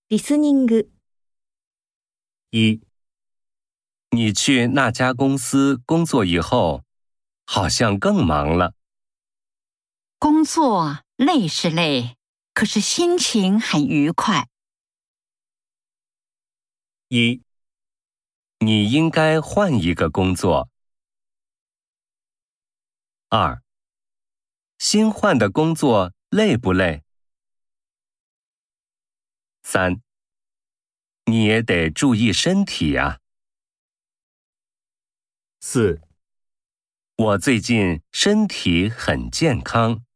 リスニング。 一，你去那家公司工作以后，好像更忙了。 工作累是累，可是心情很愉快。 一，你应该换一个工作。二，新换的工作累不累？三，你也得注意身体呀。 四， 我最近身体很健康。